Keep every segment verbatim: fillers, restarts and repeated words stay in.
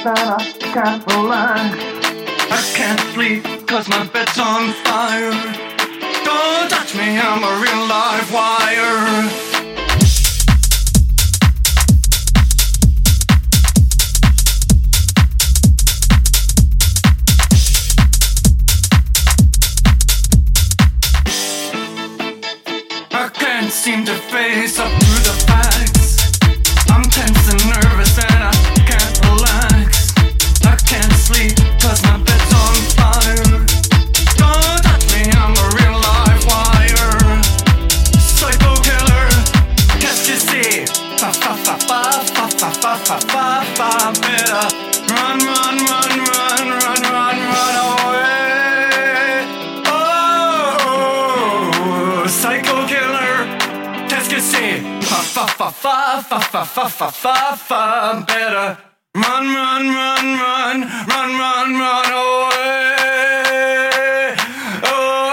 nervous and I can't relax. I can't sleep cause my bed's on fire. Don't touch me, I'm a real live wire. I can't seem to face up to the facts. I'm tense and nervous and I can't relax. I can't sleep cause my bed's on fire. Don't touch me, I'm a real live wire. Psycho killer, qu'est-ce que c'est? Fa fa fa fa fa fa fa fa fa fa. Better run, run, run, run, run, run, run away. Oh, psycho killer, qu'est-ce que c'est? Fa fa fa fa fa fa fa fa fa fa. Better run, run, run, run, run, run, run away. Oh.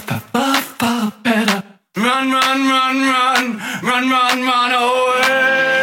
Run, run, run, run, run, run, run away.